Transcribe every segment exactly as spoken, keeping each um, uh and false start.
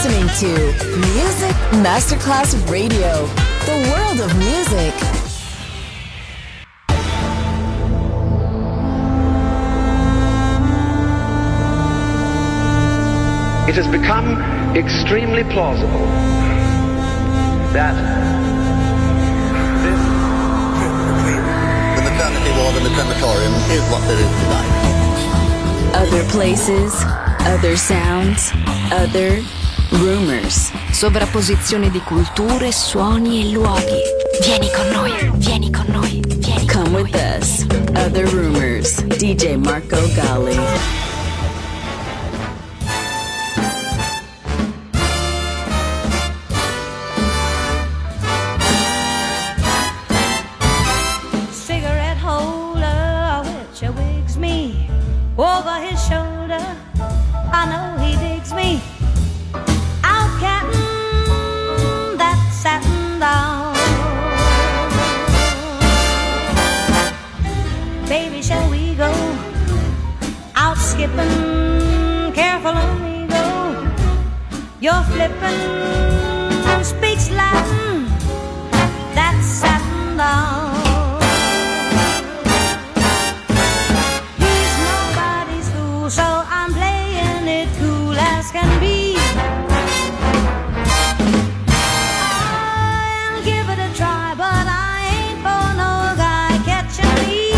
listening to Music Masterclass Radio, the world of music. It has become extremely plausible that this the maternity ward and the crematorium is what there is tonight. Other places, other sounds, other rumors. Sovrapposizione di culture, suoni e luoghi. Vieni con noi, vieni con noi, vieni con Come noi. with us. Other rumors. D J Marco Gally. Over his shoulder, I know he digs me. Out cattin' that satin down. Baby, shall we go out skipping? Careful on we go. You're flippin', speaks Latin, that satin down. So I'm playing it cool as can be. I'll give it a try, but I ain't for no guy catching me.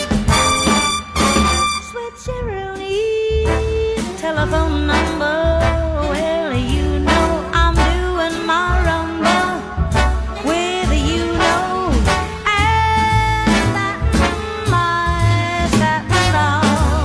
Switcheroo, telephone number. Well, you know I'm doing my rumba with you know, and that my satin down.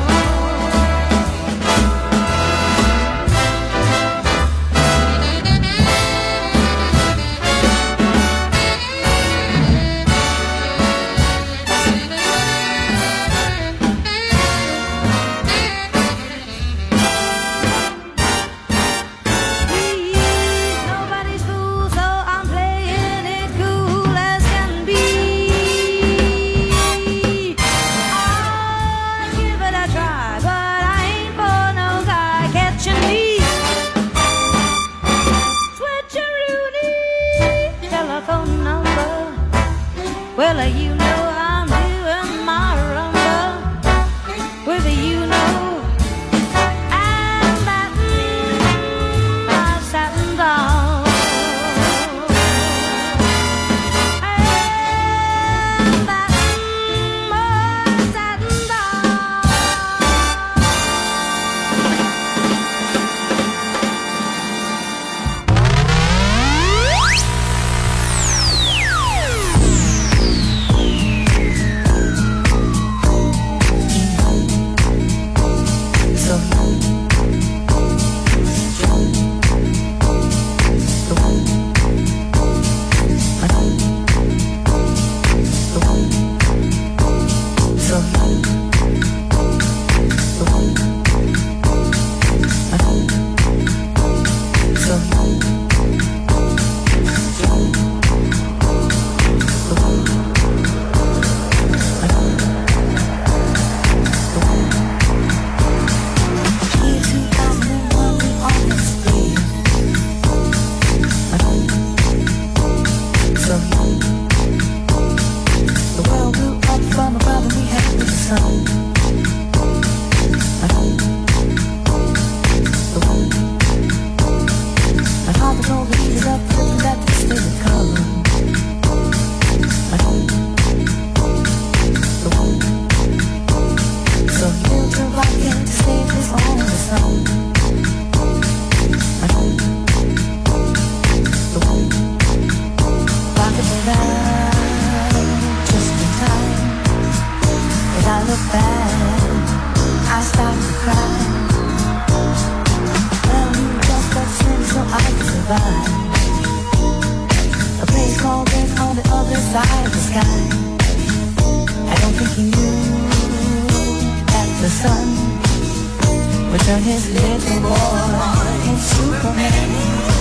Well, you know I'm doing my rumba with you know, and that my satin down, and that my satin down. A place called Earth on the other side of the sky. I don't think he knew that the sun would turn his little boy into Superman.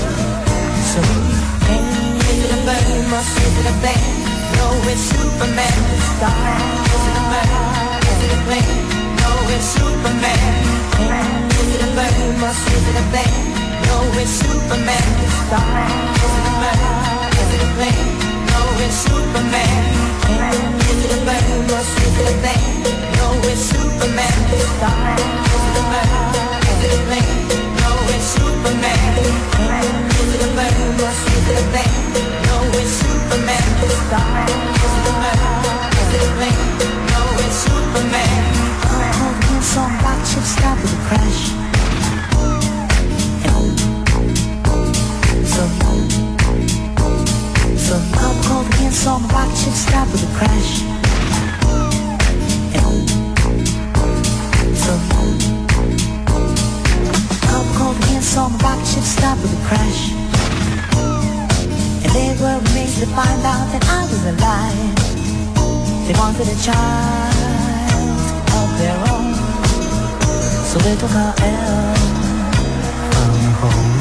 So hey, is it a bird? Must is it a bear? No, it's Superman. The star. Is it a bird? Is it a plane? No, it's Superman. Hey, is it a bird? Must is it a bear? No, it's Superman. Star. Is it a bird? Is it a plane? No, it's Superman. Is it a bird? Is it a plane? No, it's Superman. Star. Is it a bird? Is it a plane? No, it's Superman. Is it a bird? Is it a plane? No, it's Superman. Star. Is it a bird? Is it a plane? No, it's Superman. Oh, some rock ship stop with a crash. Some, some alcohol against on the rocket ship stop with a crash. Some alcohol against on the rocket ship stop with a crash. And they were amazed to find out that I was alive. They wanted a child of their own, so they took our L from home.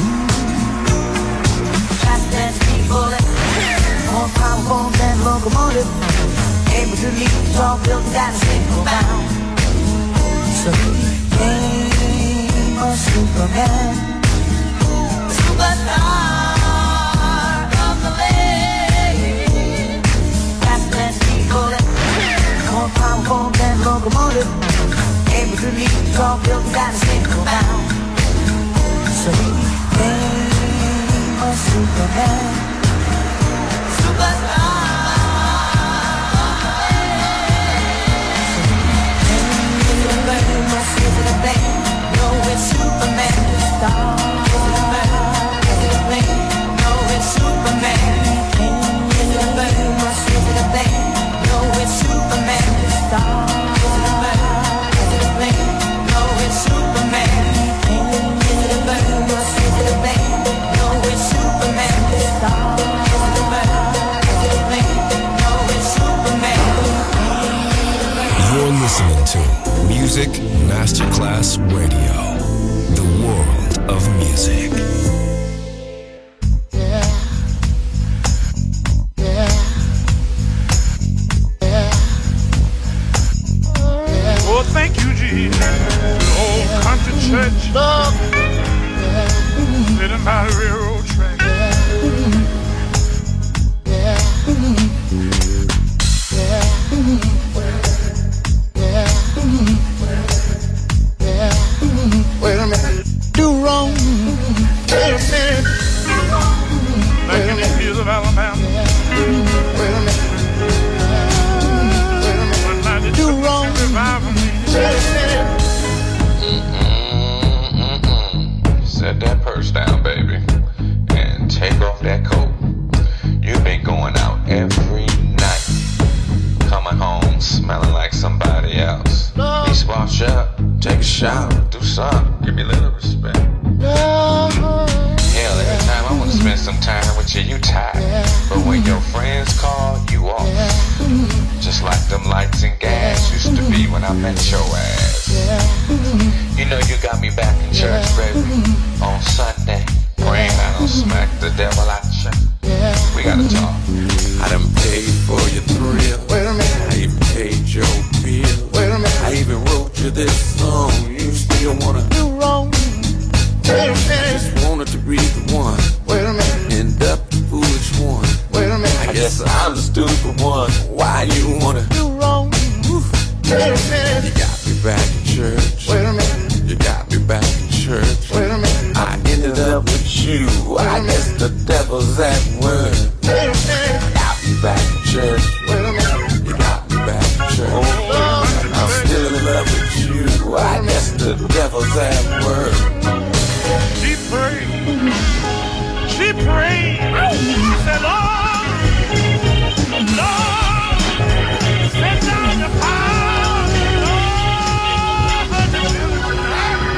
More powerful than locomotive, able to leap tall buildings at a single bound. So he became a Superman, superstar of the land. Faster than speed bullet, more powerful than locomotive, able to leap tall buildings at a single bound. So he became a Superman. You're listening to Music Masterclass Radio, the world of music. Yeah. Yeah. Yeah. Oh, thank you, Jesus. Old country church. Love. Sitting by the railroad track. Yeah. Wait a minute. Do wrong. Wait a minute. Back in the hills of Alabama. Wait a minute. Wait a minute. One night they Do took me wrong. to revive me. Wait a minute. Mm-mm-mm-mm. Set that purse down, baby, and take off that coat. You've been going out every night, coming home smelling like somebody else. Be swash up, take a shower, do something, give me a little respect. Hell, every time I wanna spend some time with you, you tired. But when your friends call, you off. Just like them lights and gas used to be when I met your ass. You know you got me back in church, baby, on Sunday, praying I don't smack the devil out you. We gotta talk. I done paid for your thrill. Wait a minute. I even paid your bill. Wait a minute. I even wrote you this song. You still wanna Do wrong. Wait a minute. just wanted to be the one. Wait a minute. End up the foolish one. Wait a minute. I guess I'm the stupid one. Why you wanna Do wrong. Wait a You minute. got me back in church. Wait a minute. You got me back in church. Wait a minute. I ended up with you. I guess the devil's at work. Wait a minute. Got me back in church. Wait a minute. You got me back in church. I'm still in love with you. I guess the devil's at work. She prayed. She prayed. She said, Lord, Lord, send down your power. Lord, deliver me.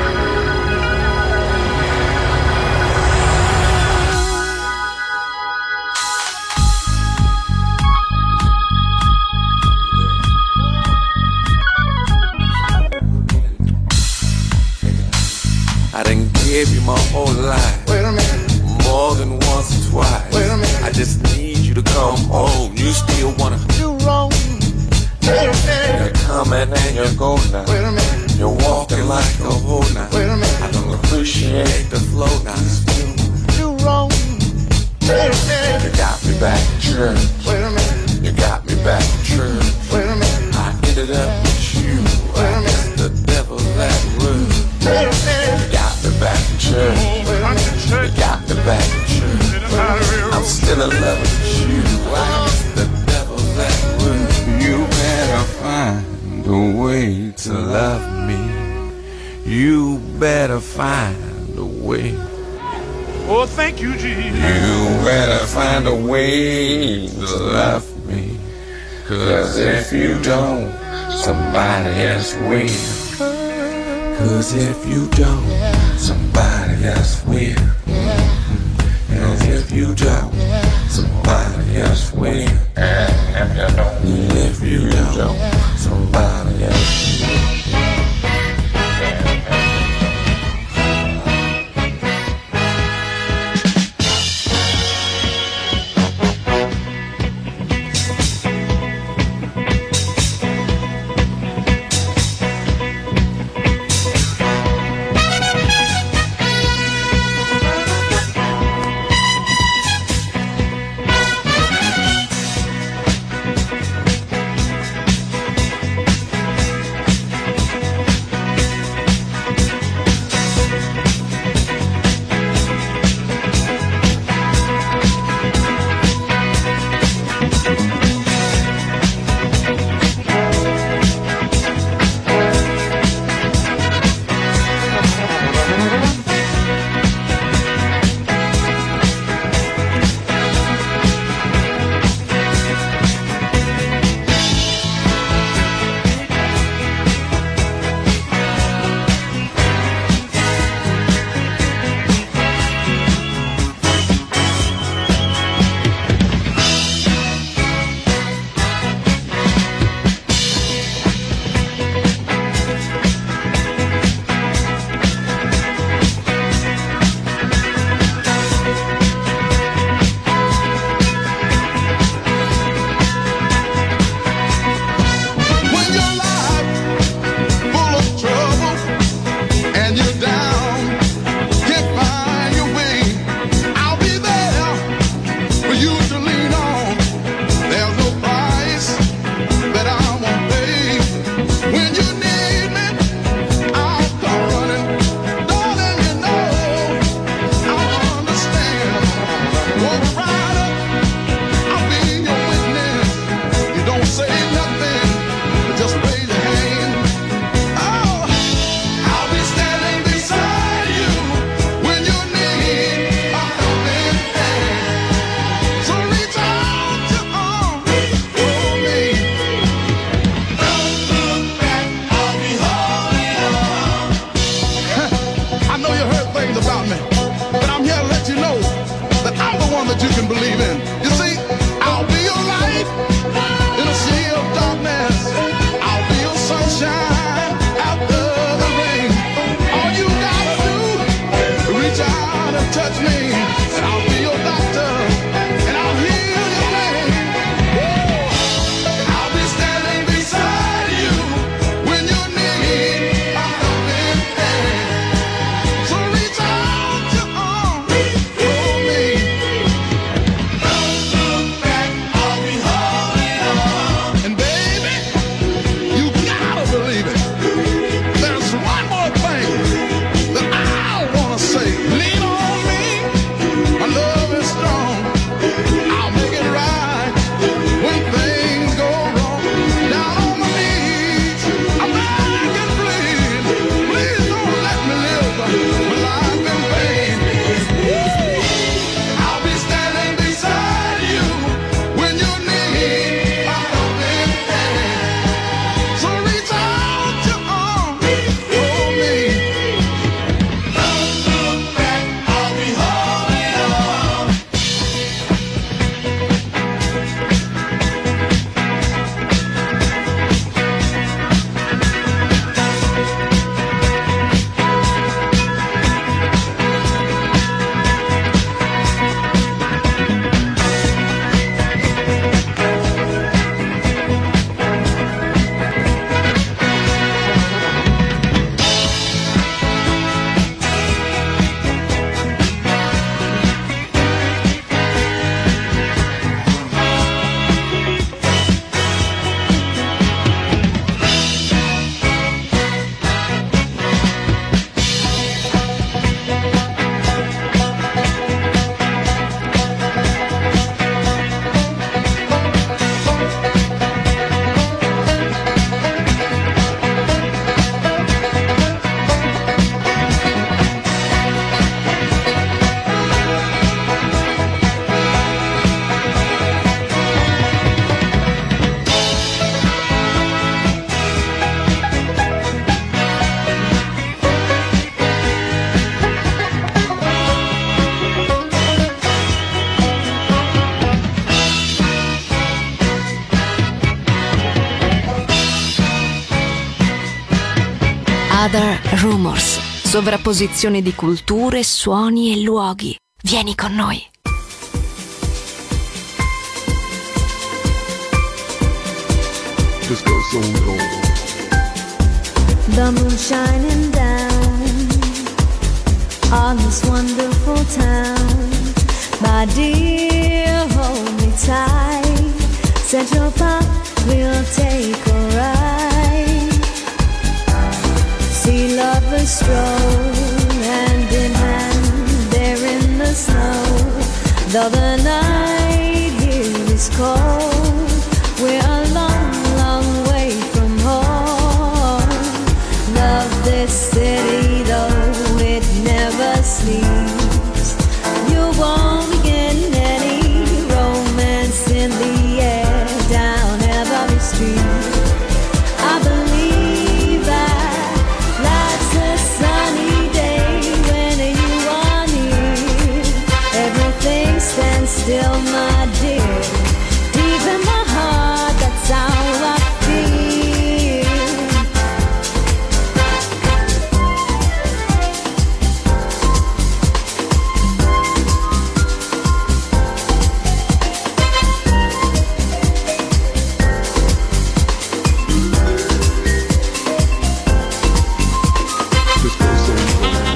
I done gave you my whole life, Wait a minute. more than once or twice. Wait a minute. I just need you to come home. You still wanna Do wrong. Wait a minute. you're coming and you're going now. Wait a minute. You're walking like a hoe now. Wait a minute. I don't appreciate the flow now. You wrong. Wait a minute. You got me back in church. Wait a minute. You got me back in church. Wait a minute. I ended up with you. Wait a minute. The devil that rude. Wait a minute. You got me back in church. Wait a minute. You got me back in church. I'm still in love with you. The devil that rude. You better find a way to love me. You better find a way. Oh, thank you, Jesus. You better find a way to love me. Cause if you don't, somebody else will. Cause if you don't, somebody else will. And if you don't, somebody else will. And if you don't, somebody else will. There's one more thing that I wanna say. Lean on me. Other Rumors. Sovrapposizione di culture, suoni e luoghi. Vieni con noi. Just go so long. The moon shining down on this wonderful town. My dear, hold me tight. Central Park, we'll take a ride. See lovers stroll hand in hand there in the snow. Though the night here is cold, we're a long, long way from home. Love this city though it never sleeps. You won't be getting any romance in the air down every street. I believe that life's a sunny day when you are near. Everything stands still, my dear. Deep in my heart, that's how I feel. Just go so long.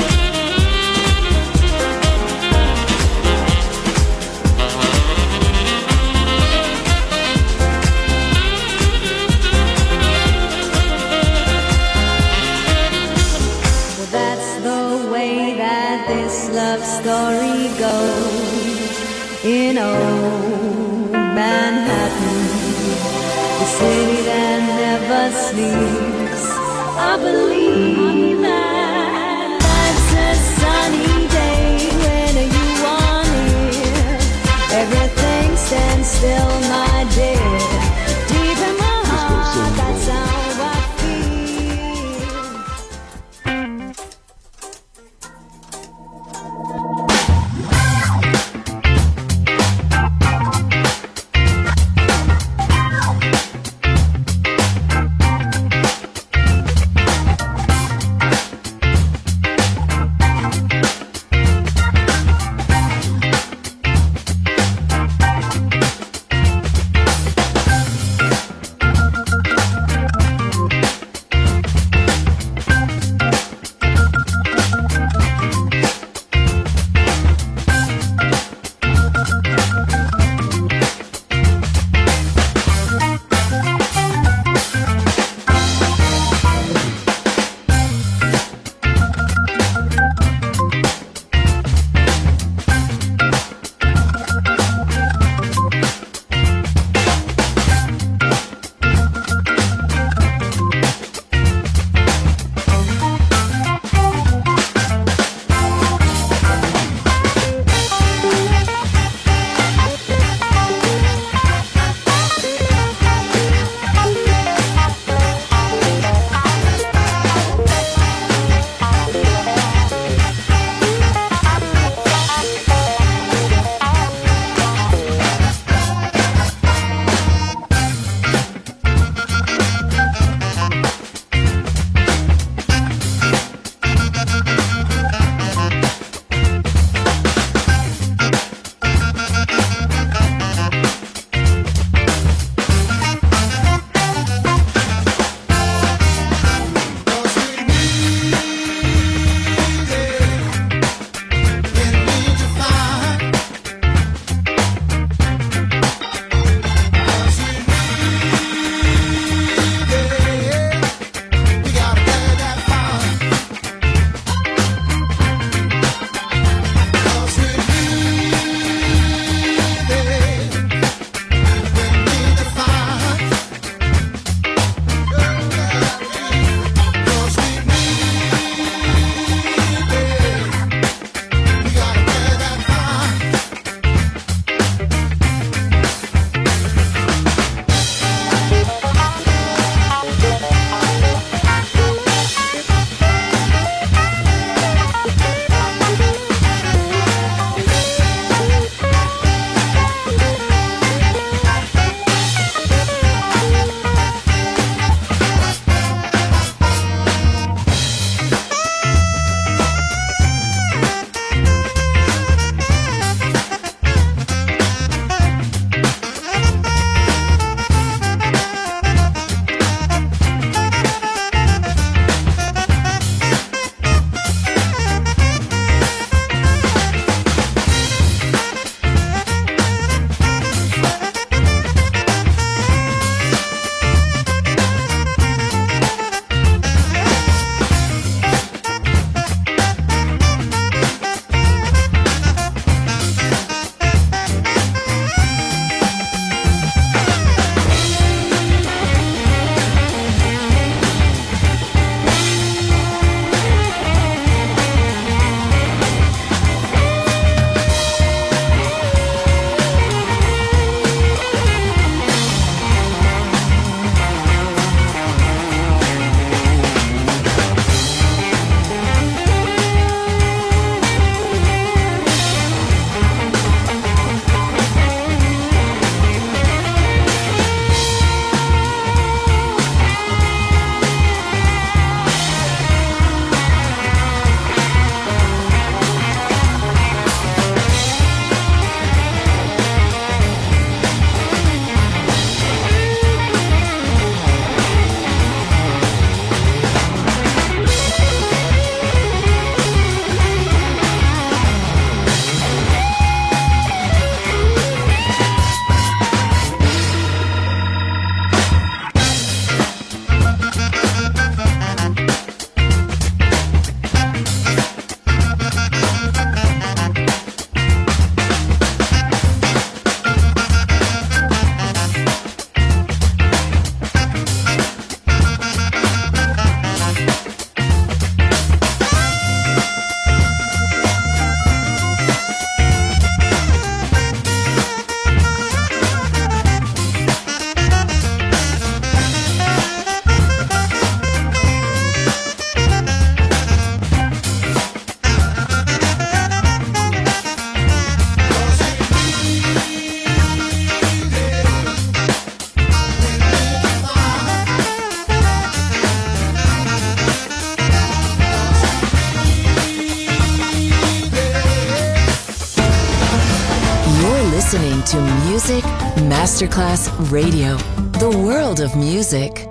Well, that's the way that this love story goes in old Manhattan, the city that never sleeps. I believe that life's a sunny day when you are near. Everything stands still, my dear. Deep in my heart, that's how I feel. listening to Music Masterclass Radio, the world of music.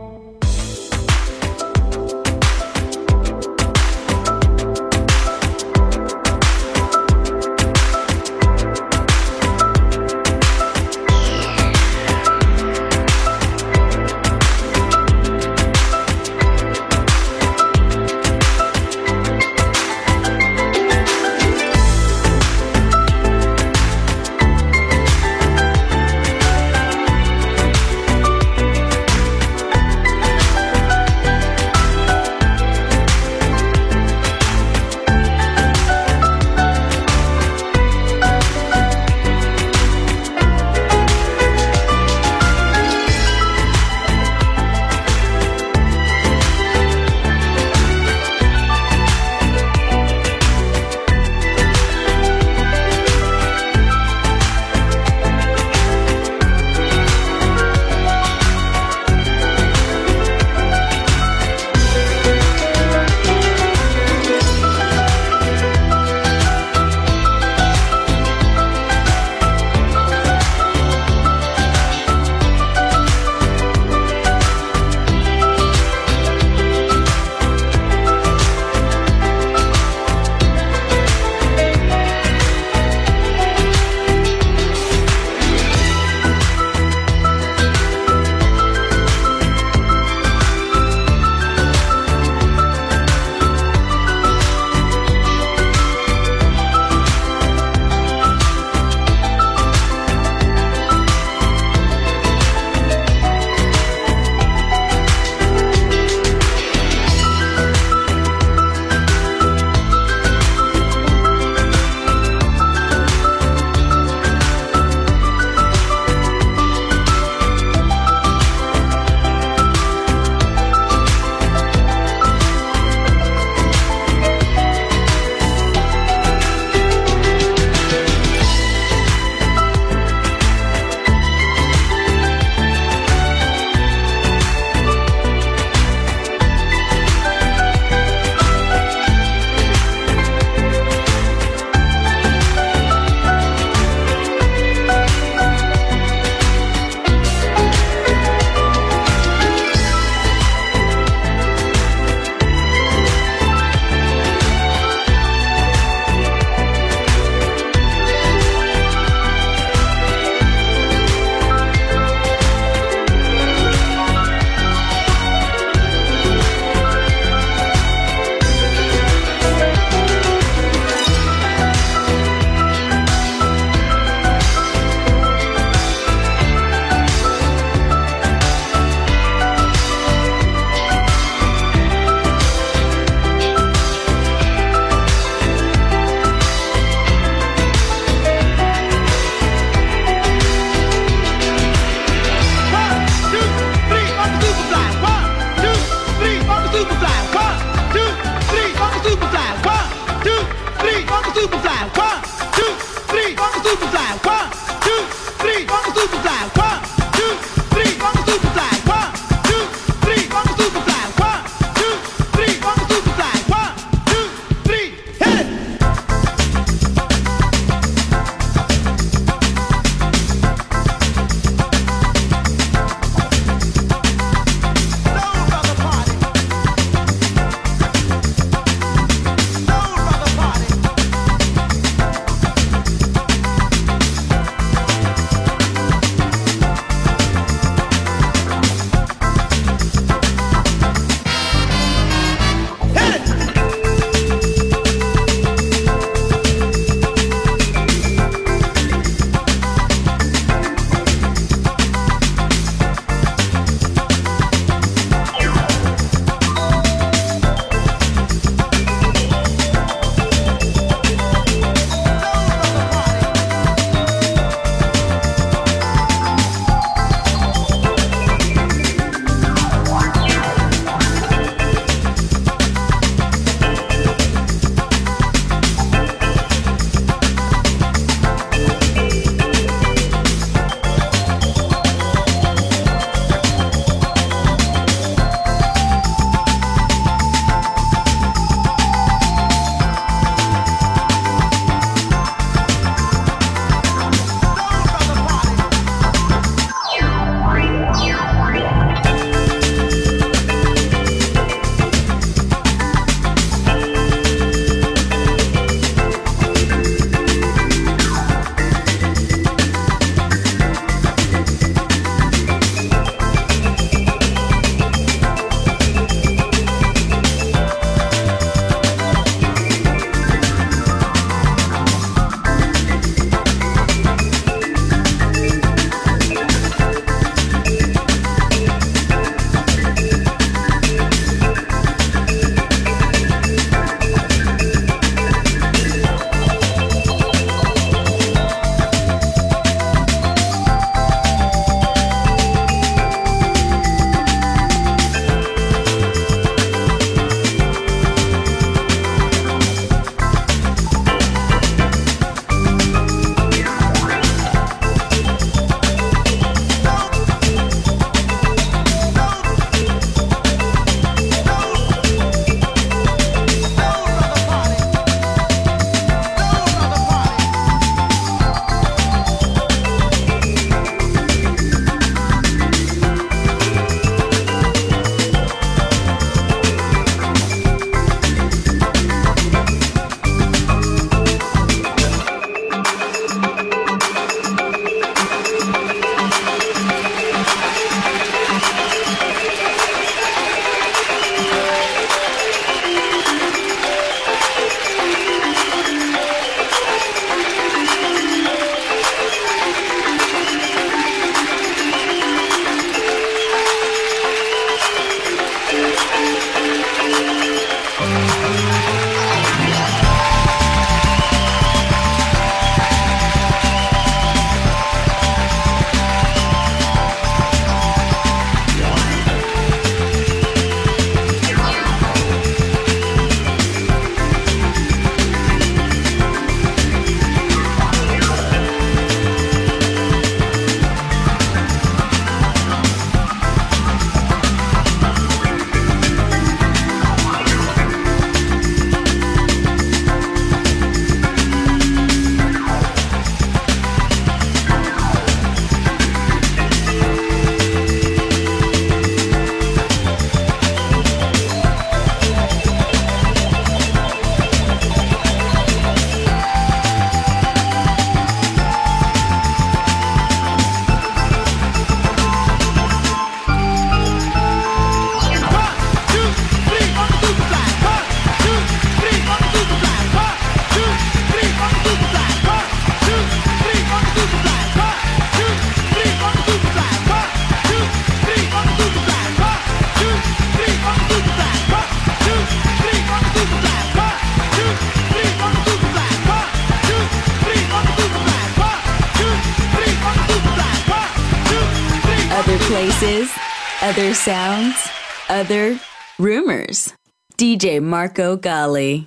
voices, other sounds, other rumors. D J Marco Gally.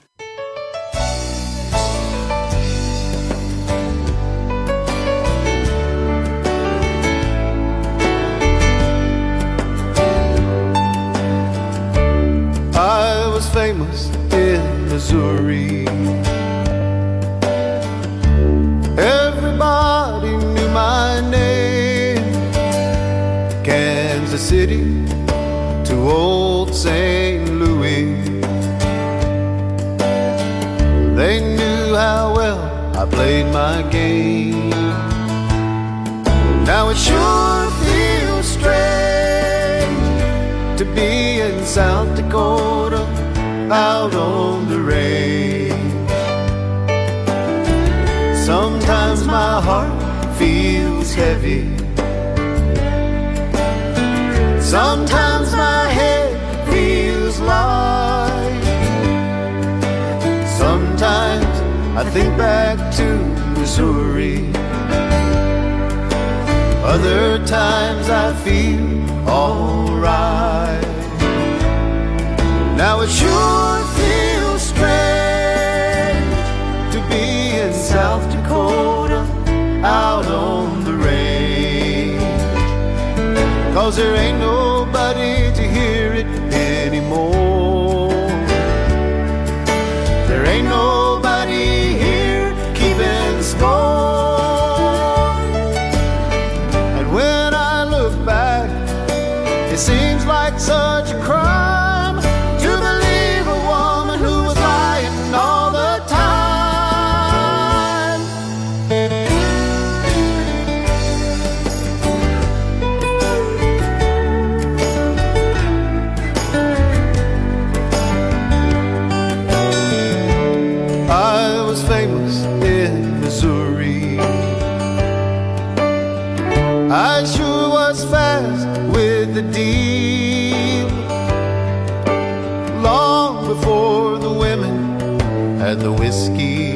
I was famous in Missouri. Everybody knew my name. Kansas City to old Saint Louis. They knew how well I played my game. Now it sure feels strange to be in South Dakota, out on the range. Sometimes my heart feels heavy. Sometimes my head feels light. Sometimes I think back to Missouri. Other times I feel alright. Now it sure feels strange to be in South Dakota, out on the range. 'Cause there ain't nobody to hear it anymore. There ain't nobody here keeping score. And when I look back, it seems like such a crime to believe a woman who was lying all the time. I was famous in Missouri. I sure was fast with the deal. Long before the women had the whiskey,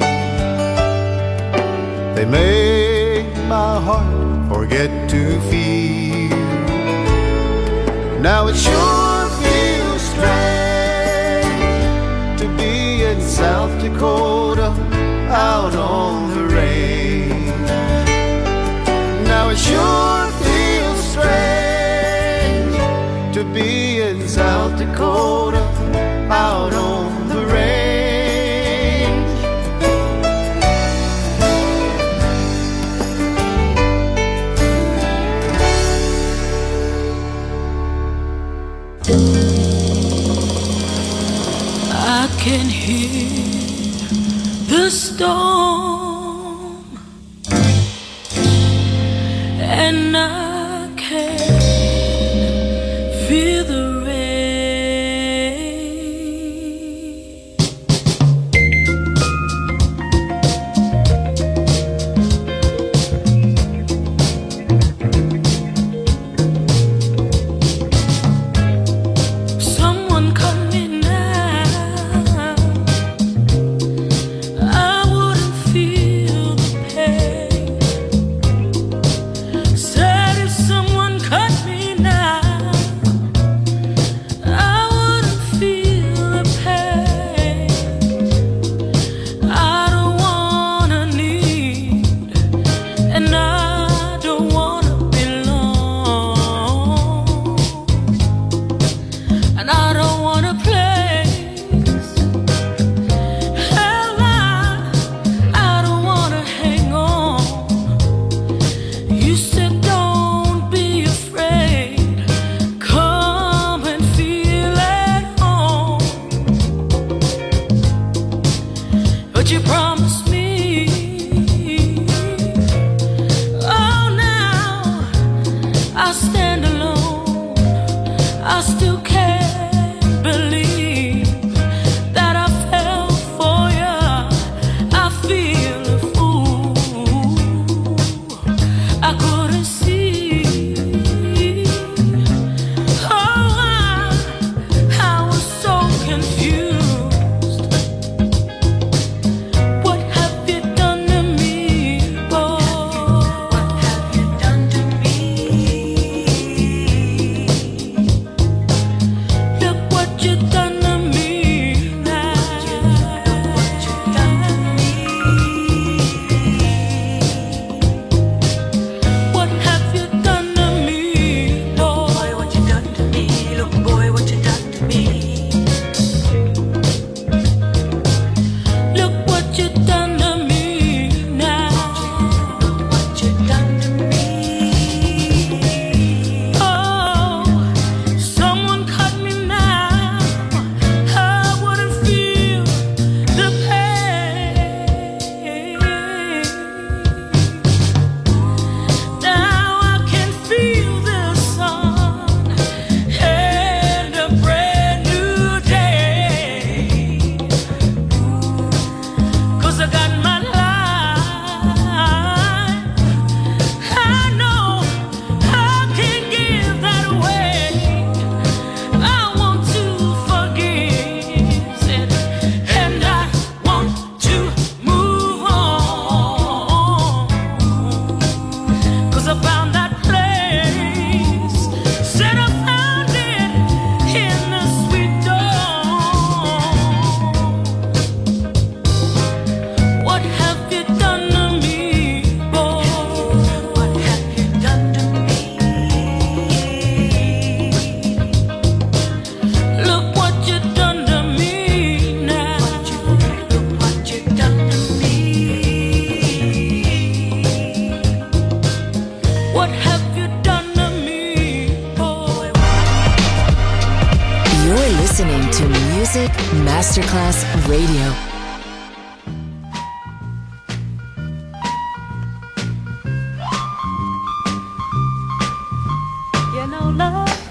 they made my heart forget to feel. Now it sure feels strange to be in South Dakota, out on the range. Now it sure feels strange to be in South Dakota, out on the range. I can hear the storm, and I can feel the rain. Someone coming now, I wouldn't Music Masterclass Radio. You know, love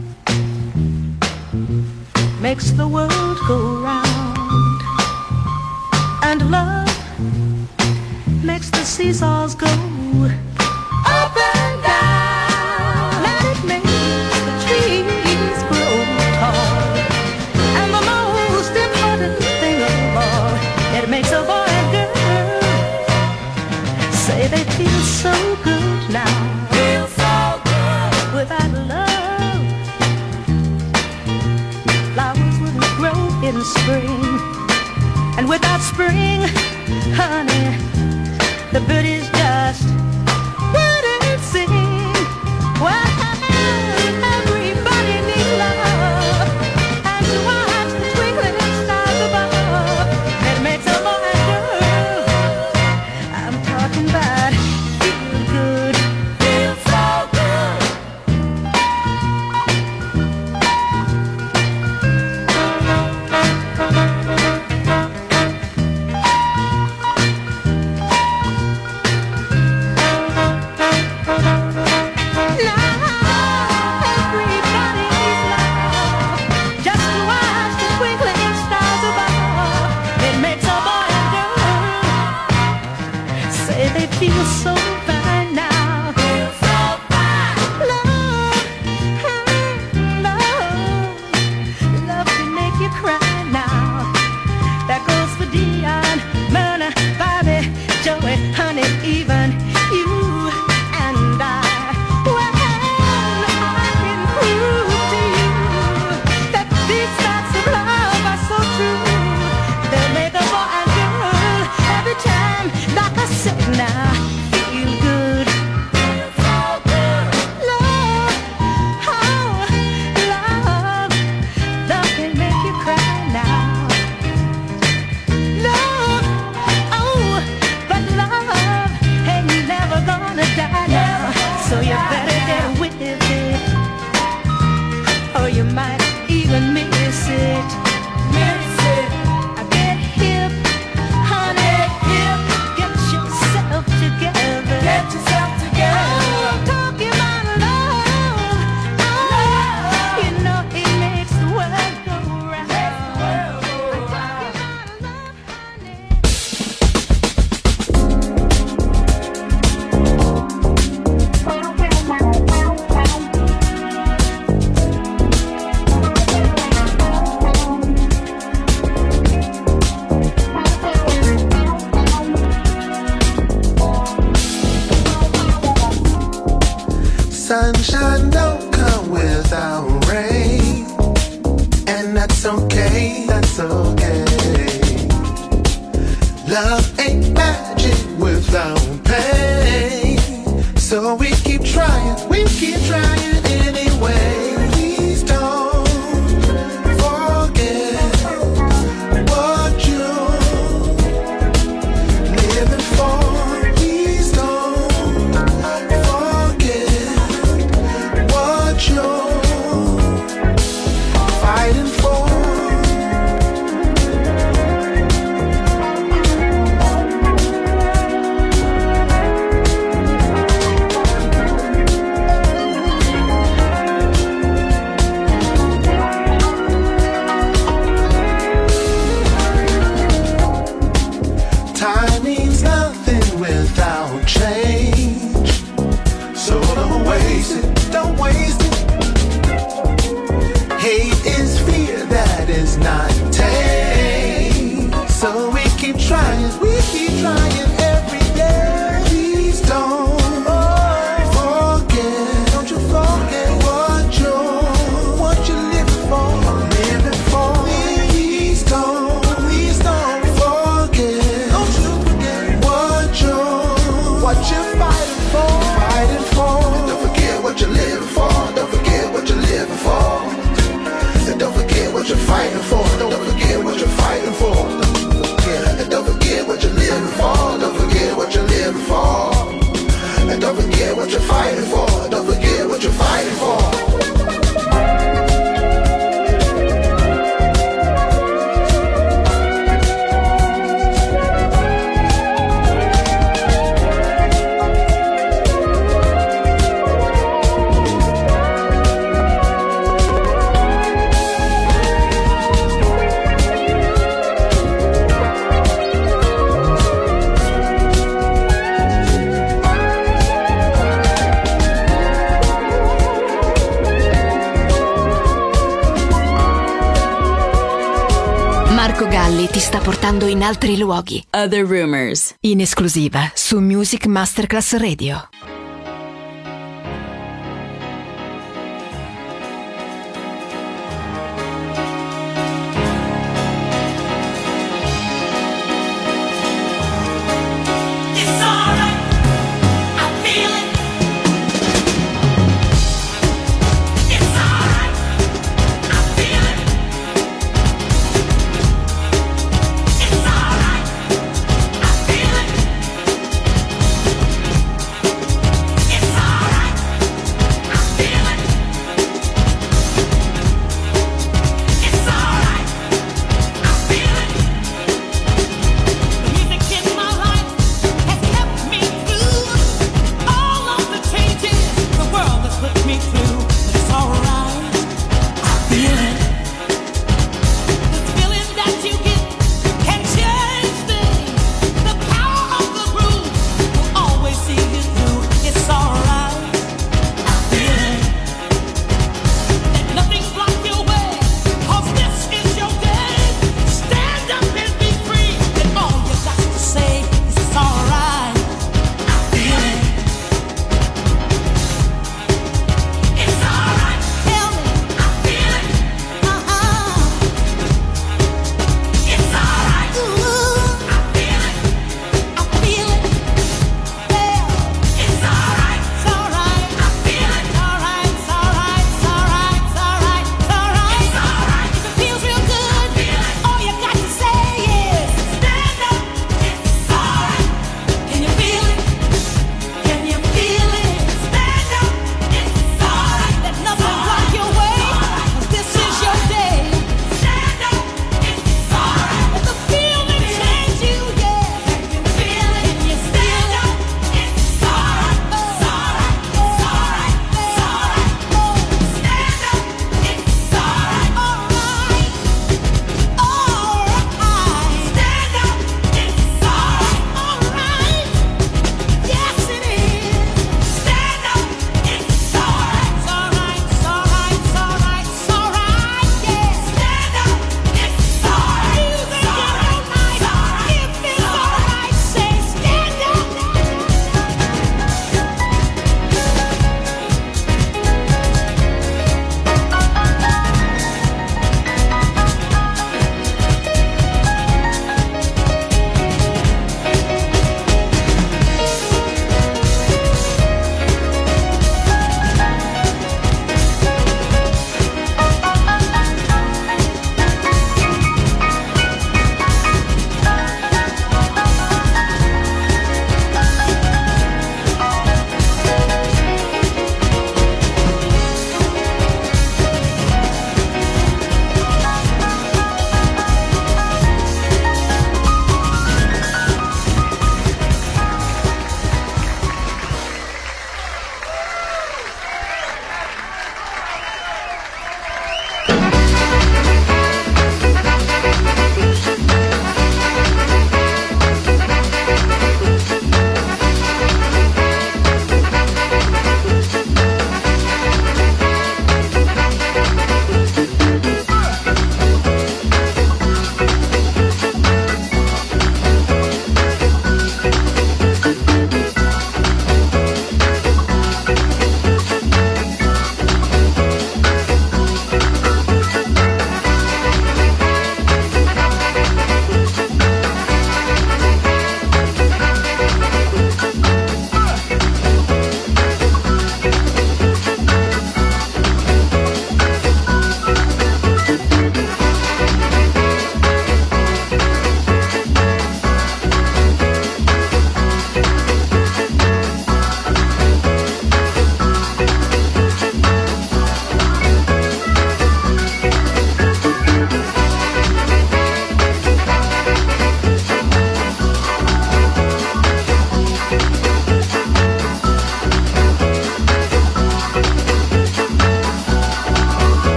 makes the world go round, and love makes the seesaws go up and down, and it makes the trees grow tall, and the most important thing of all, it makes a boy and girl say they feel so good now. Feel so good without love. Flowers wouldn't grow in spring, and without spring, honey, the birdies just wouldn't sing. Well, everybody needs love, and to watch the twinkling stars above, it makes a boy and girl. I'm talking about feel good, feel so good. Feel so fine now. Feel so fine. Love, love, love can make you cry now. That goes for Dion, Myrna, Bobby, Joey, honey, even you and I. Well, I can prove to you that these facts of love are so true. They make a boy and girl every time, like I said now. So you better get with it, or you might even miss it. Miss it. Get hip, honey, hip. Get yourself together. Get yourself together. I'm talking about love. Oh, you know it makes the world go round. Makes the world go round. Sunshine don't come without rain, and that's okay, that's okay. Love ain't magic without pain, so we keep trying, we keep trying anyway. Please don't forget what you're living for. Please don't forget what you're fighting for. Time means nothing without change, so don't waste it, don't waste it. Hate is fear that is not tame, so we keep trying, we keep trying every day. Please don't forget, don't you forget what you're, what you're living for, living for. Please don't, please don't forget, don't you forget what you're, what you're fighting for, fighting for. Don't forget what you're living for, don't forget what you're living for. And don't forget what you're fighting for. Don't forget what you're fighting for. And don't forget what you're living for. Don't forget what you're living for. And don't forget what you're fighting for. Don't forget what you're fighting for. Molly ti sta portando in altri luoghi. Other Rumors, in esclusiva su Music Masterclass Radio.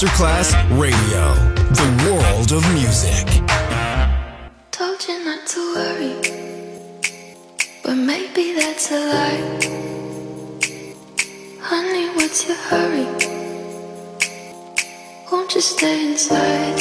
Masterclass Radio, the world of music. Told you not to worry, but maybe that's a lie. Honey, what's your hurry? Won't you stay inside?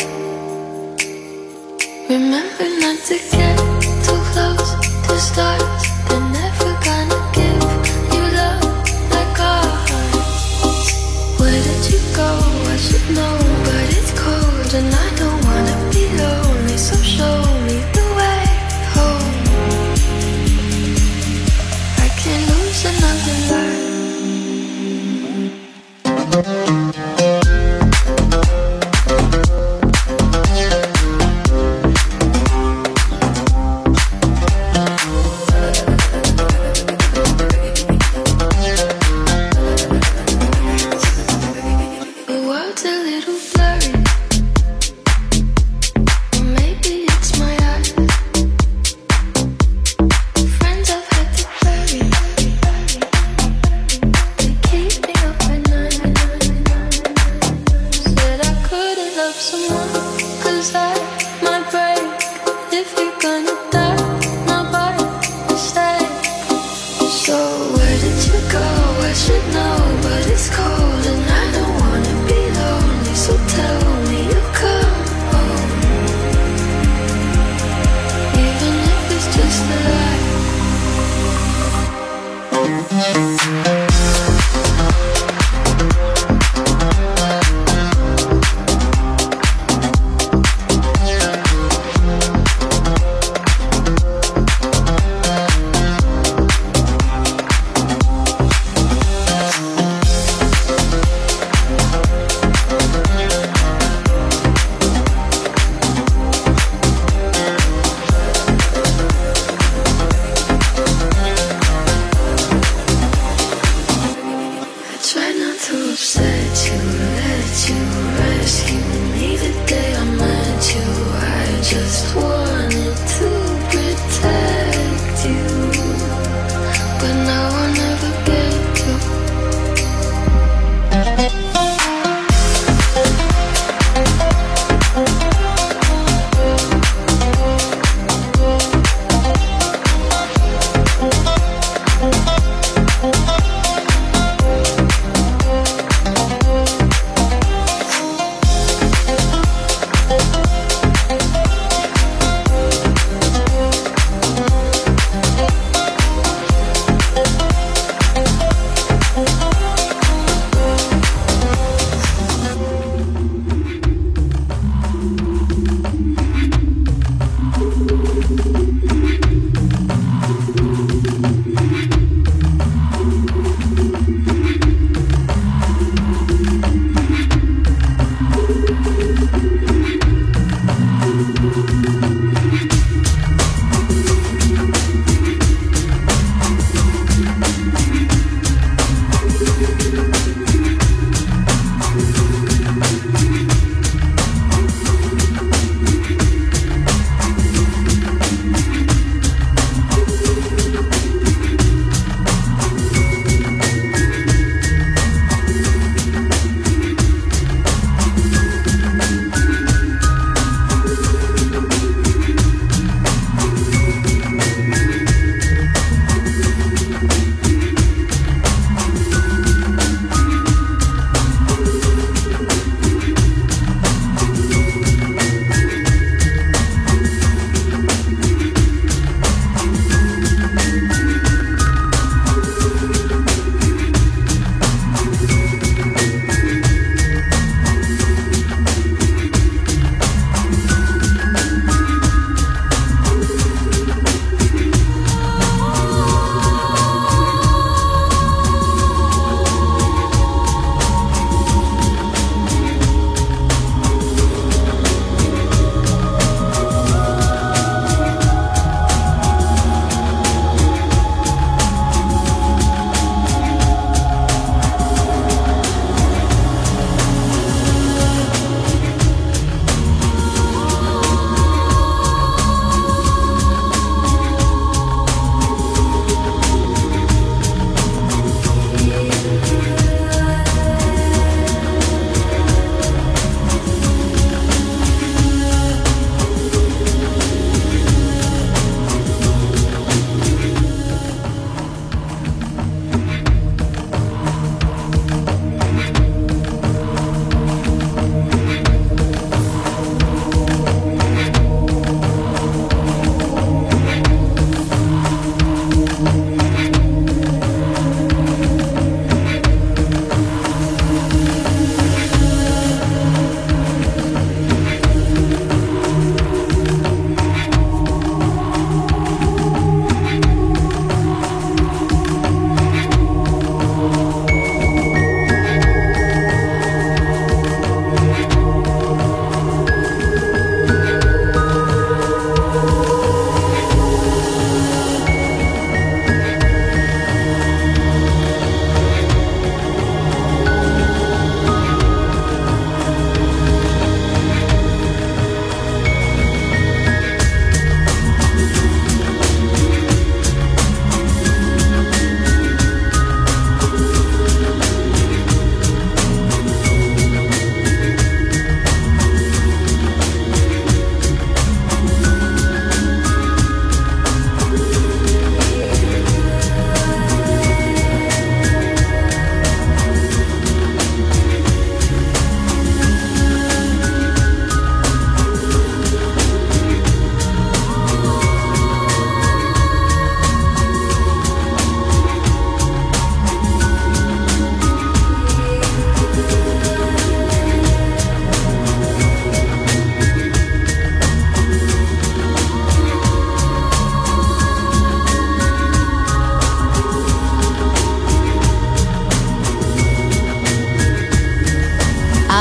Remember not to get too close to stars. They're never gonna give you love like ours. Where did you go? I should know, but it's cold and I don't wanna be lonely. So show me the way home. I can't lose another life.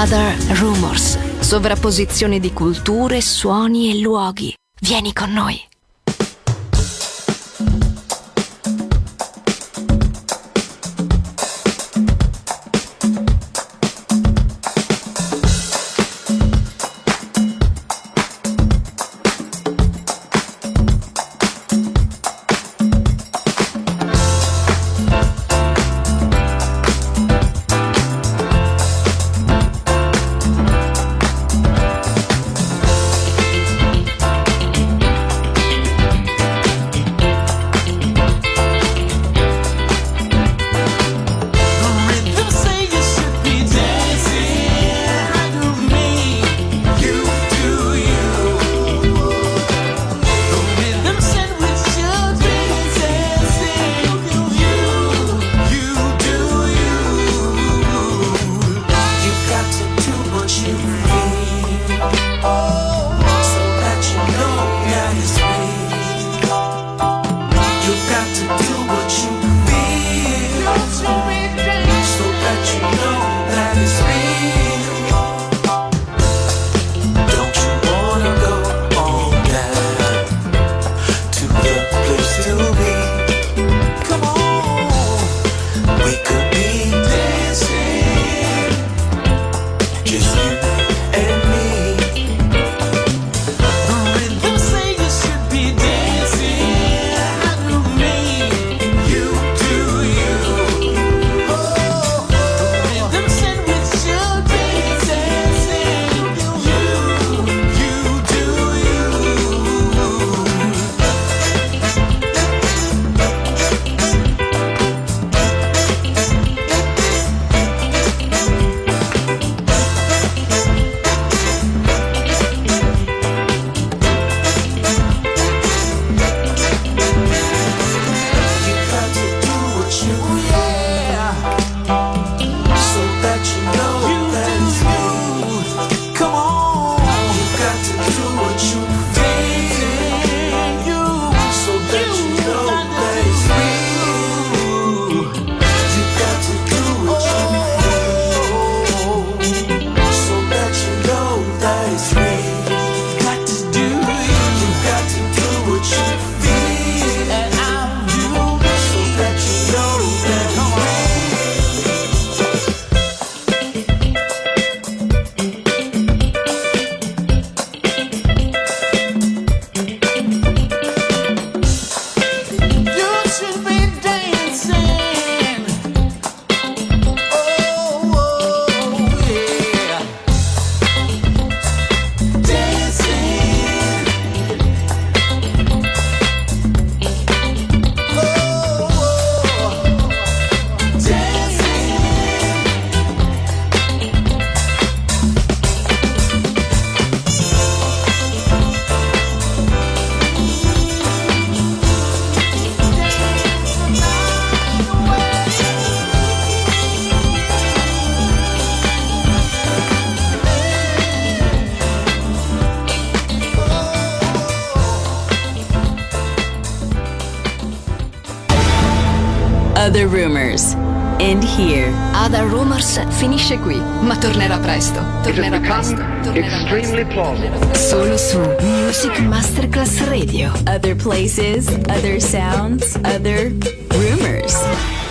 Other Rumors. Sovrapposizione di culture, suoni e luoghi. Vieni con noi. Other Rumors. End here. Other Rumors finisce qui, ma tornerà presto. Tornerà presto. Tornerà extremely plausible. Solo su Music Masterclass Radio. Other places, other sounds, other rumors.